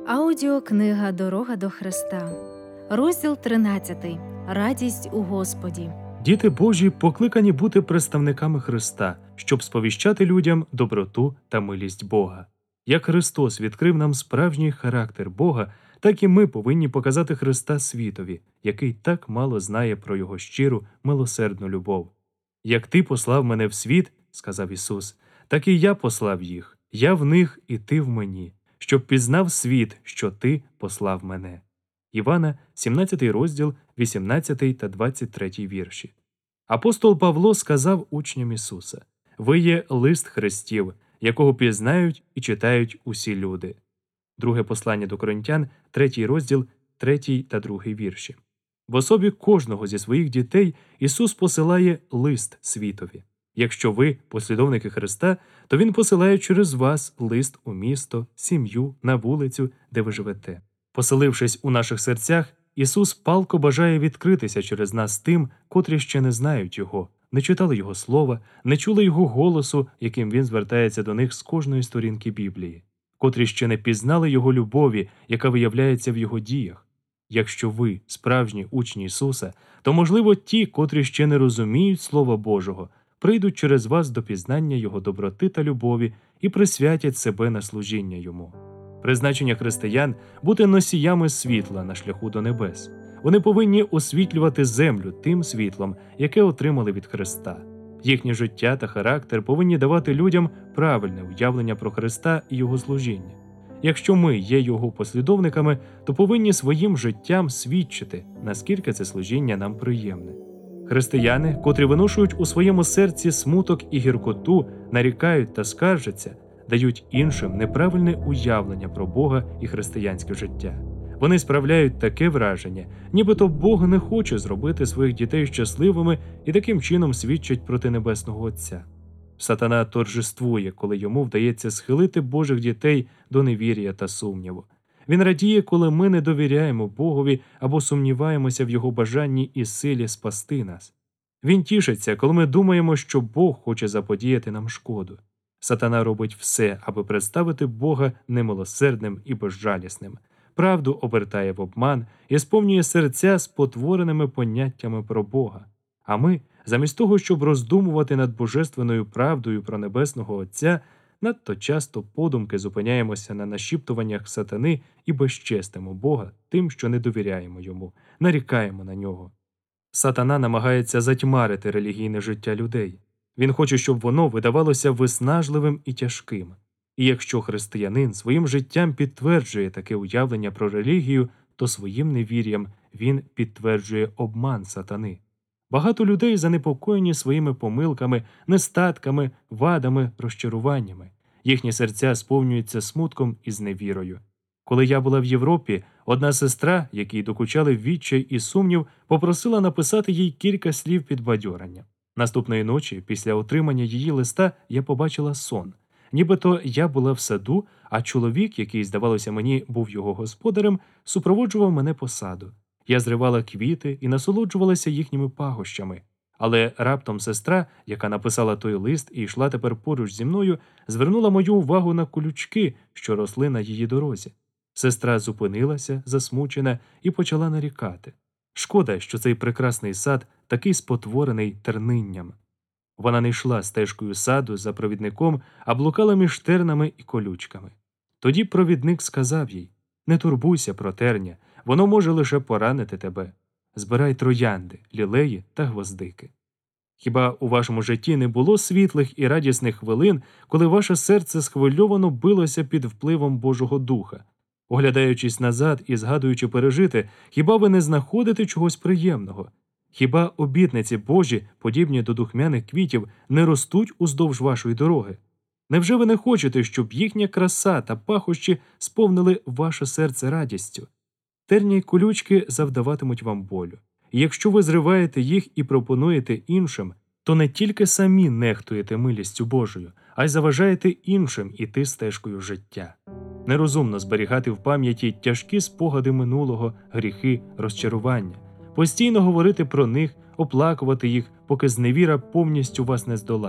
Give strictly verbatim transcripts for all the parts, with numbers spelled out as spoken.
Аудіокнига «Дорога до Христа», розділ тринадцятий. Радість у Господі. Діти Божі покликані бути представниками Христа, щоб сповіщати людям доброту та милість Бога. Як Христос відкрив нам справжній характер Бога, так і ми повинні показати Христа світові, який так мало знає про Його щиру, милосердну любов. «Як Ти послав мене в світ, – сказав Ісус, – так і я послав їх, я в них і ти в мені, щоб пізнав світ, що Ти послав мене». Івана, сімнадцятий розділ, вісімнадцятий та двадцять третій вірші. Апостол Павло сказав учням Ісуса: «Ви є лист Христів, якого пізнають і читають усі люди». Друге послання до Коринтян, третій розділ, третій та другий вірші. В особі кожного зі своїх дітей Ісус посилає лист світові. Якщо ви послідовники Христа, то Він посилає через вас лист у місто, сім'ю, на вулицю, де ви живете. Поселившись у наших серцях, Ісус палко бажає відкритися через нас тим, котрі ще не знають Його, не читали Його слова, не чули Його голосу, яким Він звертається до них з кожної сторінки Біблії, котрі ще не пізнали Його любові, яка виявляється в Його діях. Якщо ви справжні учні Ісуса, то, можливо, ті, котрі ще не розуміють Слова Божого, прийдуть через вас до пізнання Його доброти та любові і присвятять себе на служіння Йому. Призначення християн – бути носіями світла на шляху до небес. Вони повинні освітлювати землю тим світлом, яке отримали від Христа. Їхнє життя та характер повинні давати людям правильне уявлення про Христа і Його служіння. Якщо ми є Його послідовниками, то повинні своїм життям свідчити, наскільки це служіння нам приємне. Християни, котрі виношують у своєму серці смуток і гіркоту, нарікають та скаржаться, дають іншим неправильне уявлення про Бога і християнське життя. Вони справляють таке враження, нібито Бог не хоче зробити своїх дітей щасливими і таким чином свідчать проти Небесного Отця. Сатана торжествує, коли йому вдається схилити Божих дітей до невір'я та сумніву. Він радіє, коли ми не довіряємо Богові або сумніваємося в Його бажанні і силі спасти нас. Він тішиться, коли ми думаємо, що Бог хоче заподіяти нам шкоду. Сатана робить все, аби представити Бога немилосердним і безжалісним. Правду обертає в обман і сповнює серця спотвореними поняттями про Бога. А ми, замість того, щоб роздумувати над божественною правдою про Небесного Отця, надто часто подумки зупиняємося на нашіптуваннях сатани і безчестимо Бога тим, що не довіряємо Йому, нарікаємо на Нього. Сатана намагається затьмарити релігійне життя людей. Він хоче, щоб воно видавалося виснажливим і тяжким. І якщо християнин своїм життям підтверджує таке уявлення про релігію, то своїм невір'ям він підтверджує обман сатани. Багато людей занепокоєні своїми помилками, нестатками, вадами, розчаруваннями. Їхні серця сповнюються смутком і зневірою. Коли я була в Європі, одна сестра, якій докучали відчай і сумнів, попросила написати їй кілька слів підбадьорення. Наступної ночі, після отримання її листа, я побачила сон. Нібито я була в саду, а чоловік, який, здавалося мені, був його господарем, супроводжував мене по саду. Я зривала квіти і насолоджувалася їхніми пахощами. Але раптом сестра, яка написала той лист і йшла тепер поруч зі мною, звернула мою увагу на колючки, що росли на її дорозі. Сестра зупинилася, засмучена, і почала нарікати. Шкода, що цей прекрасний сад такий спотворений тернинням. Вона не йшла стежкою саду за провідником, а блукала між тернами і колючками. Тоді провідник сказав їй: «Не турбуйся про терня, воно може лише поранити тебе. Збирай троянди, лілеї та гвоздики». Хіба у вашому житті не було світлих і радісних хвилин, коли ваше серце схвильовано билося під впливом Божого Духа? Оглядаючись назад і згадуючи пережите, хіба ви не знаходите чогось приємного? Хіба обітниці Божі, подібні до духмяних квітів, не ростуть уздовж вашої дороги? Невже ви не хочете, щоб їхня краса та пахощі сповнили ваше серце радістю? Терні й колючки завдаватимуть вам болю. І якщо ви зриваєте їх і пропонуєте іншим, то не тільки самі нехтуєте милістю Божою, а й заважаєте іншим іти стежкою життя. Нерозумно зберігати в пам'яті тяжкі спогади минулого, гріхи, розчарування. Постійно говорити про них, оплакувати їх, поки зневіра повністю вас не здолає.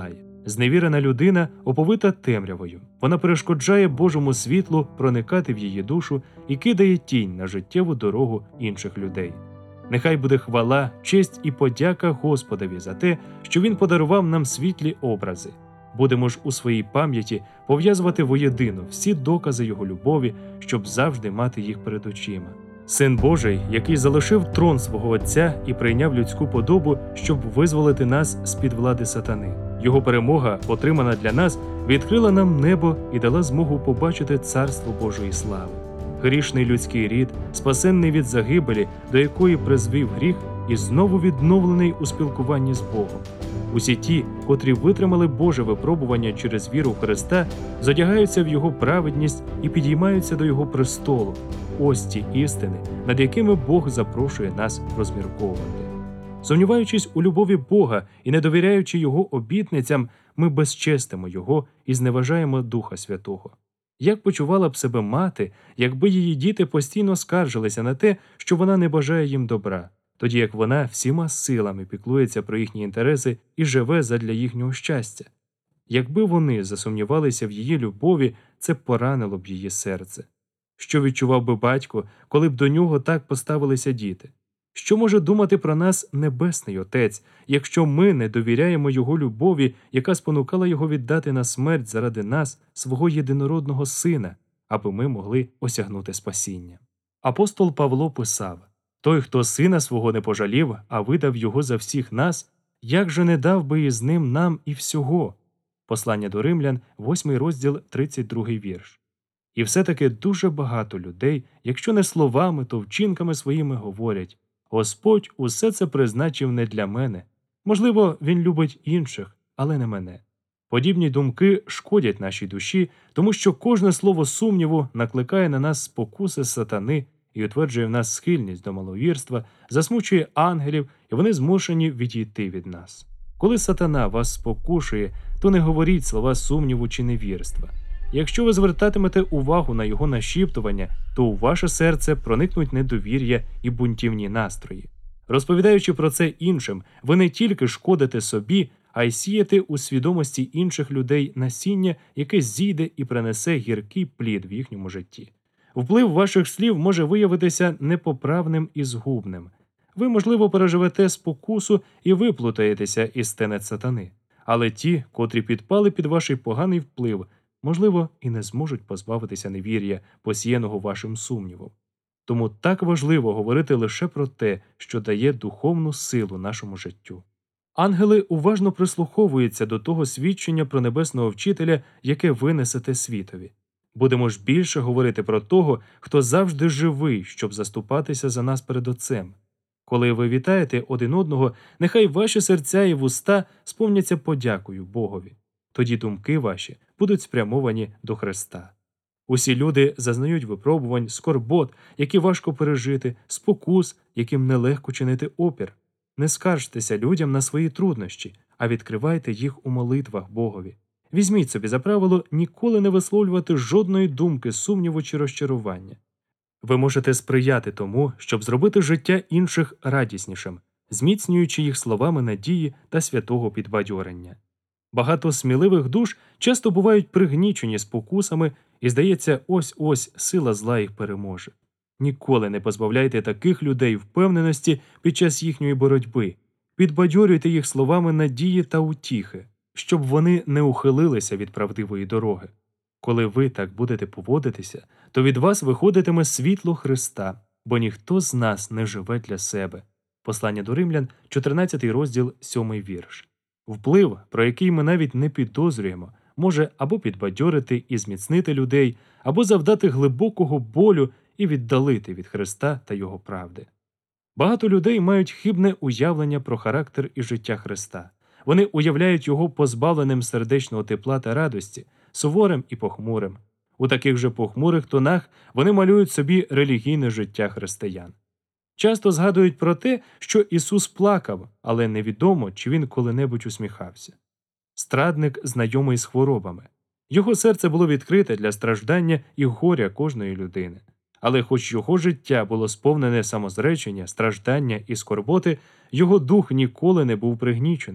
Зневірена людина оповита темрявою. Вона перешкоджає Божому світлу проникати в її душу і кидає тінь на життєву дорогу інших людей. Нехай буде хвала, честь і подяка Господові за те, що Він подарував нам світлі образи. Будемо ж у своїй пам'яті пов'язувати воєдино всі докази Його любові, щоб завжди мати їх перед очима. Син Божий, який залишив трон свого Отця і прийняв людську подобу, щоб визволити нас з-під влади сатани. Його перемога, отримана для нас, відкрила нам небо і дала змогу побачити царство Божої слави. Грішний людський рід, спасенний від загибелі, до якої призвів гріх, і знову відновлений у спілкуванні з Богом. Усі ті, котрі витримали Боже випробування через віру в Христа, зодягаються в Його праведність і підіймаються до Його престолу. Ось ті істини, над якими Бог запрошує нас розмірковувати. Сумніваючись у любові Бога і не довіряючи Його обітницям, ми безчестимо Його і зневажаємо Духа Святого. Як почувала б себе мати, якби її діти постійно скаржилися на те, що вона не бажає їм добра, тоді як вона всіма силами піклується про їхні інтереси і живе задля їхнього щастя? Якби вони засумнівалися в її любові, це поранило б її серце. Що відчував би батько, коли б до нього так поставилися діти? Що може думати про нас Небесний Отець, якщо ми не довіряємо Його любові, яка спонукала Його віддати на смерть заради нас, свого єдинородного Сина, аби ми могли осягнути спасіння? Апостол Павло писав: «Той, хто Сина свого не пожалів, а видав Його за всіх нас, як же не дав би із ним нам і всього?» Послання до Римлян, восьмий розділ, тридцять другий вірш. І все-таки дуже багато людей, якщо не словами, то вчинками своїми говорять: «Господь усе це призначив не для мене. Можливо, Він любить інших, але не мене». Подібні думки шкодять нашій душі, тому що кожне слово сумніву накликає на нас спокуси сатани і утверджує в нас схильність до маловірства, засмучує ангелів, і вони змушені відійти від нас. Коли сатана вас спокушує, то не говоріть слова сумніву чи невірства. Якщо ви звертатимете увагу на його нашіптування, то у ваше серце проникнуть недовір'я і бунтівні настрої. Розповідаючи про це іншим, ви не тільки шкодите собі, а й сієте у свідомості інших людей насіння, яке зійде і принесе гіркий плід в їхньому житті. Вплив ваших слів може виявитися непоправним і згубним. Ви, можливо, переживете спокусу і виплутаєтеся із тенет сатани. Але ті, котрі підпали під ваш поганий вплив, можливо, і не зможуть позбавитися невір'я, посіяного вашим сумнівом. Тому так важливо говорити лише про те, що дає духовну силу нашому життю. Ангели уважно прислуховуються до того свідчення про небесного вчителя, яке ви несете світові. Будемо ж більше говорити про того, хто завжди живий, щоб заступатися за нас перед Отцем. Коли ви вітаєте один одного, нехай ваші серця і вуста сповняться подякою Богові. Тоді думки ваші будуть спрямовані до Христа. Усі люди зазнають випробувань, скорбот, які важко пережити, спокус, яким нелегко чинити опір. Не скаржтеся людям на свої труднощі, а відкривайте їх у молитвах Богові. Візьміть собі за правило ніколи не висловлювати жодної думки, сумніву чи розчарування. Ви можете сприяти тому, щоб зробити життя інших радіснішим, зміцнюючи їх словами надії та святого підбадьорення. Багато сміливих душ часто бувають пригнічені спокусами, і, здається, ось-ось сила зла їх переможе. Ніколи не позбавляйте таких людей впевненості під час їхньої боротьби. Підбадьорюйте їх словами надії та утіхи, щоб вони не ухилилися від правдивої дороги. Коли ви так будете поводитися, то від вас виходитиме світло Христа, бо ніхто з нас не живе для себе. Послання до Римлян, чотирнадцятий розділ, сьомий вірш. Вплив, про який ми навіть не підозрюємо, може або підбадьорити і зміцнити людей, або завдати глибокого болю і віддалити від Христа та Його правди. Багато людей мають хибне уявлення про характер і життя Христа. Вони уявляють Його позбавленим сердечного тепла та радості, суворим і похмурим. У таких же похмурих тонах вони малюють собі релігійне життя християн. Часто згадують про те, що Ісус плакав, але невідомо, чи Він коли-небудь усміхався. Страдник знайомий з хворобами. Його серце було відкрите для страждання і горя кожної людини. Але хоч його життя було сповнене самозречення, страждання і скорботи, його дух ніколи не був пригнічений.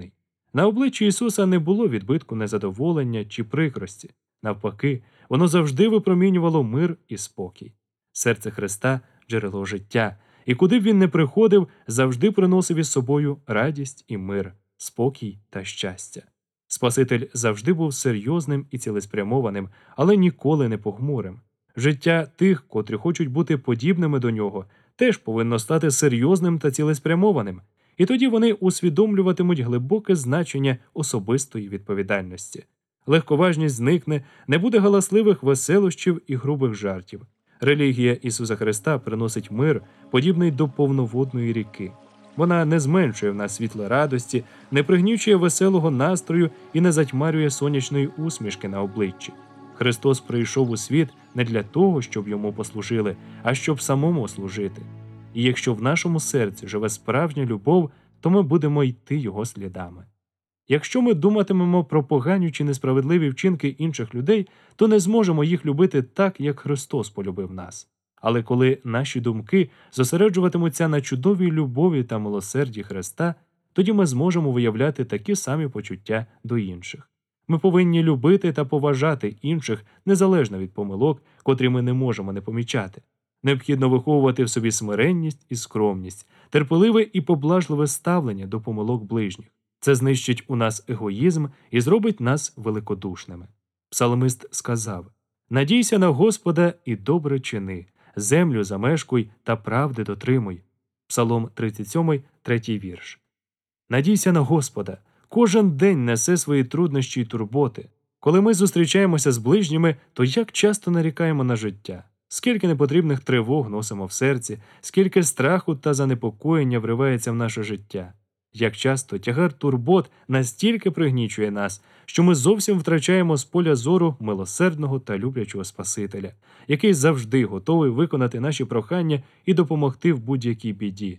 На обличчі Ісуса не було відбитку незадоволення чи прикрості. Навпаки, воно завжди випромінювало мир і спокій. Серце Христа – джерело життя, і куди б він не приходив, завжди приносив із собою радість і мир, спокій та щастя. Спаситель завжди був серйозним і цілеспрямованим, але ніколи не похмурим. Життя тих, котрі хочуть бути подібними до нього, теж повинно стати серйозним та цілеспрямованим, і тоді вони усвідомлюватимуть глибоке значення особистої відповідальності. Легковажність зникне, не буде галасливих веселощів і грубих жартів. Релігія Ісуса Христа приносить мир, подібний до повноводної ріки. Вона не зменшує в нас світла радості, не пригнічує веселого настрою і не затьмарює сонячної усмішки на обличчі. Христос прийшов у світ не для того, щоб йому послужили, а щоб самому служити. І якщо в нашому серці живе справжня любов, то ми будемо йти його слідами. Якщо ми думатимемо про погані чи несправедливі вчинки інших людей, то не зможемо їх любити так, як Христос полюбив нас. Але коли наші думки зосереджуватимуться на чудовій любові та милосерді Христа, тоді ми зможемо виявляти такі самі почуття до інших. Ми повинні любити та поважати інших незалежно від помилок, котрі ми не можемо не помічати. Необхідно виховувати в собі смиренність і скромність, терпеливе і поблажливе ставлення до помилок ближніх. Це знищить у нас егоїзм і зробить нас великодушними. Псалмист сказав: «Надійся на Господа і добре чини, землю замешкуй та правди дотримуй». Псалом тридцять сьомий, третій вірш. Надійся на Господа. Кожен день несе свої труднощі й турботи. Коли ми зустрічаємося з ближніми, то як часто нарікаємо на життя? Скільки непотрібних тривог носимо в серці, скільки страху та занепокоєння вривається в наше життя. Як часто тягар турбот настільки пригнічує нас, що ми зовсім втрачаємо з поля зору милосердного та люблячого Спасителя, який завжди готовий виконати наші прохання і допомогти в будь-якій біді.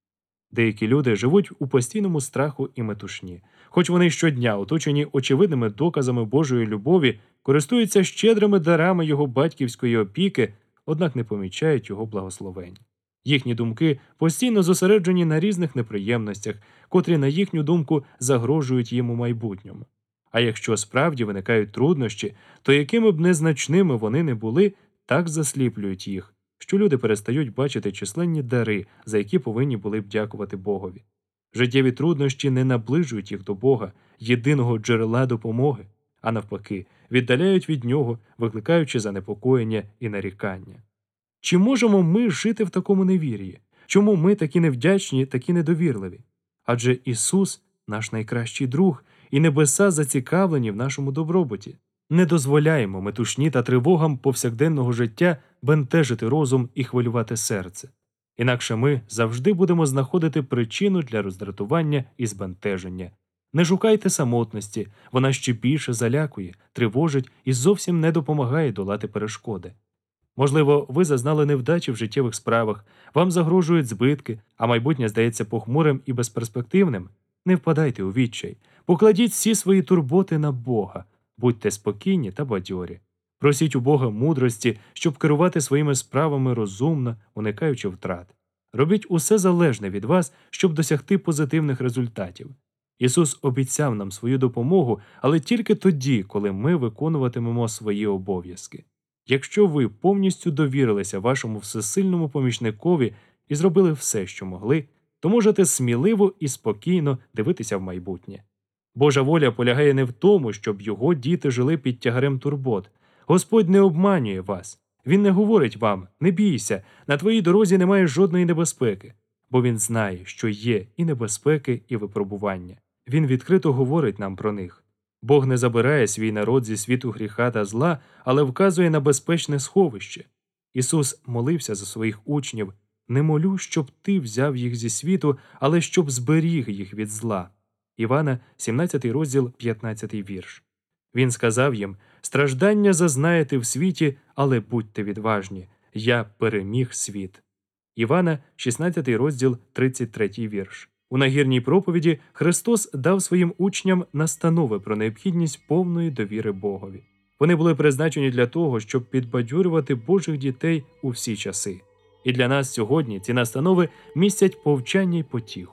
Деякі люди живуть у постійному страху і метушні. Хоч вони щодня, оточені очевидними доказами Божої любові, користуються щедрими дарами Його батьківської опіки, однак не помічають Його благословень. Їхні думки постійно зосереджені на різних неприємностях, котрі, на їхню думку, загрожують їм у майбутньому. А якщо справді виникають труднощі, то якими б незначними вони не були, так засліплюють їх, що люди перестають бачити численні дари, за які повинні були б дякувати Богові. Життєві труднощі не наближують їх до Бога, єдиного джерела допомоги, а навпаки, віддаляють від Нього, викликаючи занепокоєння і нарікання. Чи можемо ми жити в такому невір'ї? Чому ми такі невдячні, такі недовірливі? Адже Ісус – наш найкращий друг, і небеса зацікавлені в нашому добробуті. Не дозволяємо метушні та тривогам повсякденного життя бентежити розум і хвилювати серце. Інакше ми завжди будемо знаходити причину для роздратування і збентеження. Не шукайте самотності, вона ще більше залякує, тривожить і зовсім не допомагає долати перешкоди. Можливо, ви зазнали невдачі в життєвих справах, вам загрожують збитки, а майбутнє здається похмурим і безперспективним. Не впадайте у відчай, покладіть всі свої турботи на Бога, будьте спокійні та бадьорі. Просіть у Бога мудрості, щоб керувати своїми справами розумно, уникаючи втрат. Робіть усе залежне від вас, щоб досягти позитивних результатів. Ісус обіцяв нам свою допомогу, але тільки тоді, коли ми виконуватимемо свої обов'язки. Якщо ви повністю довірилися вашому всесильному помічникові і зробили все, що могли, то можете сміливо і спокійно дивитися в майбутнє. Божа воля полягає не в тому, щоб його діти жили під тягарем турбот. Господь не обманює вас. Він не говорить вам: «Не бійся, на твоїй дорозі немає жодної небезпеки», бо Він знає, що є і небезпеки, і випробування. Він відкрито говорить нам про них. Бог не забирає свій народ зі світу гріха та зла, але вказує на безпечне сховище. Ісус молився за своїх учнів: «Не молю, щоб ти взяв їх зі світу, але щоб зберіг їх від зла». Івана, сімнадцятий розділ, п'ятнадцятий вірш. Він сказав їм: «Страждання зазнаєте в світі, але будьте відважні. Я переміг світ». Івана, шістнадцятий розділ, тридцять третій вірш. У нагірній проповіді Христос дав своїм учням настанови про необхідність повної довіри Богові. Вони були призначені для того, щоб підбадьорювати Божих дітей у всі часи. І для нас сьогодні ці настанови містять повчання й потіху.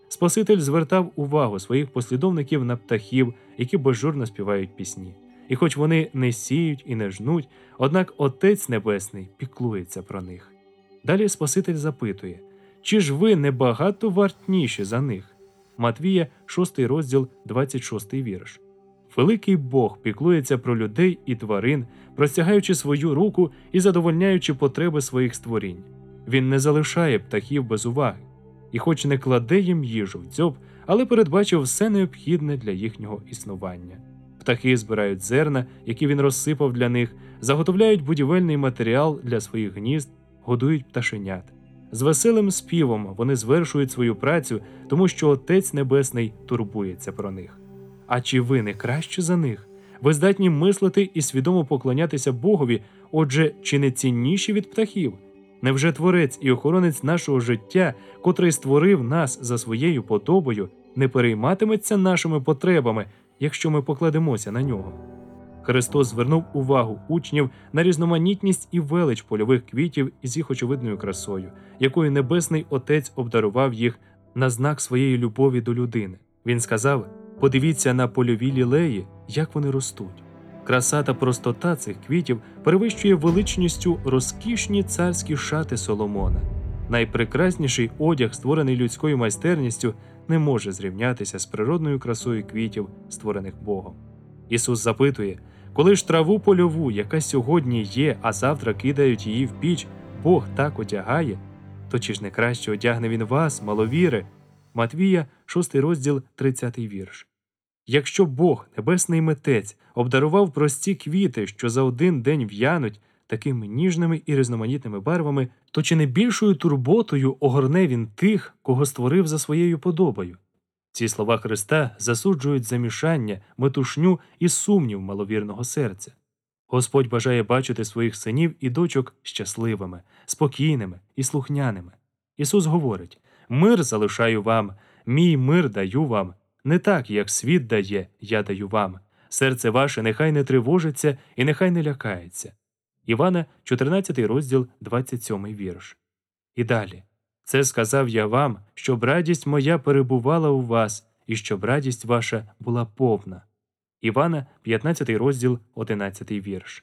Спаситель звертав увагу своїх послідовників на птахів, які безжурно співають пісні. І хоч вони не сіють і не жнуть, однак Отець Небесний піклується про них. Далі Спаситель запитує: «Чи ж ви не багато вартніші за них?» Матвія, шостий розділ, двадцять шостий вірш. Великий Бог піклується про людей і тварин, простягаючи свою руку і задовольняючи потреби своїх створінь. Він не залишає птахів без уваги. І хоч не кладе їм їжу в дзьоб, але передбачив все необхідне для їхнього існування. Птахи збирають зерна, які він розсипав для них, заготовляють будівельний матеріал для своїх гнізд, годують пташенят. З веселим співом вони звершують свою працю, тому що Отець Небесний турбується про них. А чи ви не краще за них? Ви здатні мислити і свідомо поклонятися Богові, отже, чи не цінніші від птахів? Невже Творець і охоронець нашого життя, котрий створив нас за своєю подобою, не перейматиметься нашими потребами, якщо ми покладемося на нього? Христос звернув увагу учнів на різноманітність і велич польових квітів із їх очевидною красою, якою Небесний Отець обдарував їх на знак своєї любові до людини. Він сказав: «Подивіться на польові лілеї, як вони ростуть». Краса та простота цих квітів перевищує величністю розкішні царські шати Соломона. Найпрекрасніший одяг, створений людською майстерністю, не може зрівнятися з природною красою квітів, створених Богом. Ісус запитує: «Коли ж траву польову, яка сьогодні є, а завтра кидають її в піч, Бог так одягає, то чи ж не краще одягне Він вас, маловіри?» Матвія, шостий розділ, тридцятий вірш. Якщо Бог, небесний митець, обдарував прості квіти, що за один день в'януть, такими ніжними і різноманітними барвами, то чи не більшою турботою огорне Він тих, кого створив за своєю подобою? Ці слова Христа засуджують замішання, метушню і сумнів маловірного серця. Господь бажає бачити своїх синів і дочок щасливими, спокійними і слухняними. Ісус говорить: «Мир залишаю вам, мій мир даю вам. Не так, як світ дає, я даю вам. Серце ваше нехай не тривожиться і нехай не лякається». Івана, чотирнадцятий розділ, двадцять сьомий вірш. І далі: «Це сказав я вам, щоб радість моя перебувала у вас, і щоб радість ваша була повна». Івана, п'ятнадцятий розділ, одинадцятий вірш.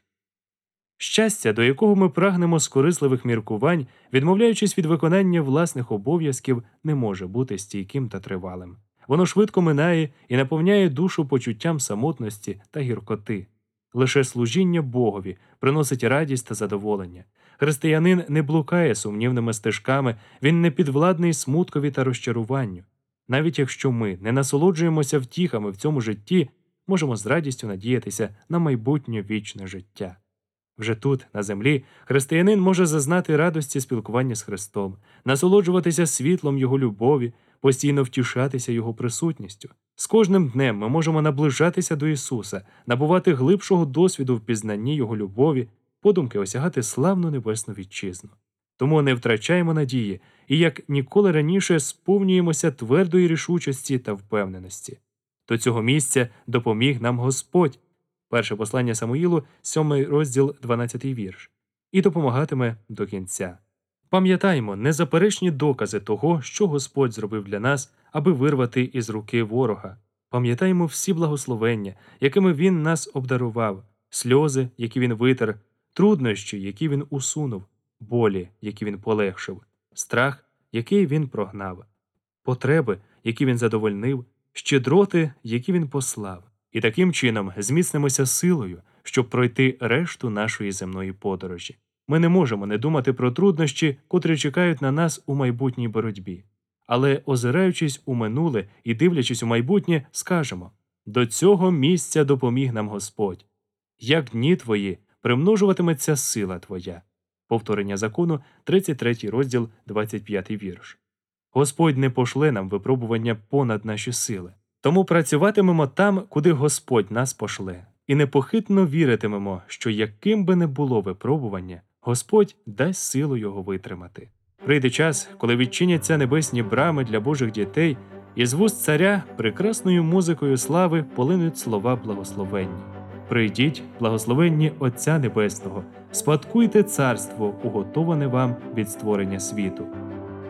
Щастя, до якого ми прагнемо з корисливих міркувань, відмовляючись від виконання власних обов'язків, не може бути стійким та тривалим. Воно швидко минає і наповняє душу почуттям самотності та гіркоти. Лише служіння Богові приносить радість та задоволення. Християнин не блукає сумнівними стежками, він не підвладний смуткові та розчаруванню. Навіть якщо ми не насолоджуємося втіхами в цьому житті, можемо з радістю надіятися на майбутнє вічне життя. Вже тут, на землі, християнин може зазнати радості спілкування з Христом, насолоджуватися світлом Його любові, постійно втішатися Його присутністю. З кожним днем ми можемо наближатися до Ісуса, набувати глибшого досвіду в пізнанні Його любові, подумки осягати славну небесну вітчизну. Тому не втрачаємо надії і, як ніколи раніше, сповнюємося твердої рішучості та впевненості. До цього місця допоміг нам Господь. Перше послання Самуїлу, сьомий розділ, дванадцятий вірш. І допомагатиме до кінця. Пам'ятаймо незаперечні докази того, що Господь зробив для нас, аби вирвати із руки ворога. Пам'ятаймо всі благословення, якими Він нас обдарував, сльози, які Він витер, труднощі, які Він усунув, болі, які Він полегшив, страх, який Він прогнав, потреби, які Він задовольнив, щедроти, які Він послав. І таким чином зміцнимося силою, щоб пройти решту нашої земної подорожі. Ми не можемо не думати про труднощі, котрі чекають на нас у майбутній боротьбі. Але, озираючись у минуле і дивлячись у майбутнє, скажемо: «До цього місця допоміг нам Господь. Як дні твої, примножуватиметься сила твоя». Повторення закону, тридцять третій розділ, двадцять п'ятий вірш. Господь не пошле нам випробування понад наші сили. Тому працюватимемо там, куди Господь нас пошле. І непохитно віритимемо, що яким би не було випробування, Господь дасть силу його витримати. Прийде час, коли відчиняться небесні брами для Божих дітей, і з вуст царя прекрасною музикою слави полинуть слова благословенні. Прийдіть, благословенні Отця Небесного, спадкуйте царство, уготоване вам від створення світу.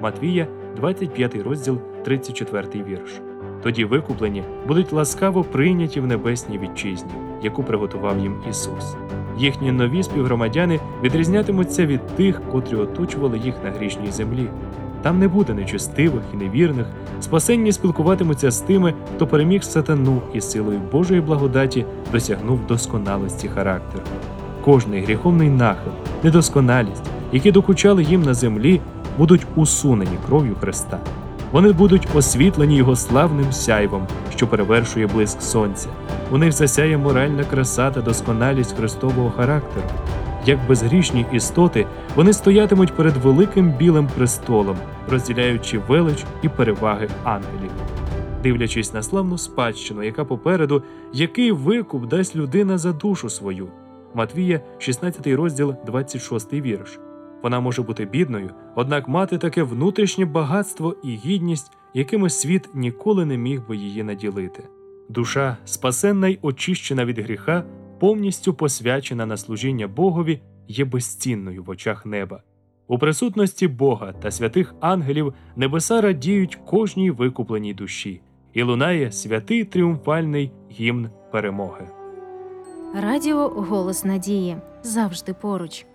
Матвія, двадцять п'ятий розділ, тридцять четвертий вірш. Тоді викуплені будуть ласкаво прийняті в небесній вітчизні, яку приготував їм Ісус. Їхні нові співгромадяни відрізнятимуться від тих, котрі оточували їх на грішній землі. Там не буде нечестивих і невірних, спасенні спілкуватимуться з тими, хто переміг сатану і силою Божої благодаті досягнув досконалості характеру. Кожний гріховний нахил, недосконалість, які докучали їм на землі, будуть усунені кров'ю Христа. Вони будуть освітлені Його славним сяйвом, що перевершує блиск сонця. У них засяє моральна краса та досконалість Христового характеру. Як безгрішні істоти, вони стоятимуть перед великим білим престолом, розділяючи велич і переваги ангелів. Дивлячись на славну спадщину, яка попереду, який викуп дасть людина за душу свою. Матвія, шістнадцятий розділ, двадцять шостий вірш. Вона може бути бідною, однак мати таке внутрішнє багатство і гідність, якими світ ніколи не міг би її наділити. Душа, спасенна й очищена від гріха, повністю посвячена на служіння Богові, є безцінною в очах неба. У присутності Бога та святих ангелів небеса радіють кожній викупленій душі, і лунає святий тріумфальний гімн перемоги. Радіо «Голос надії» завжди поруч.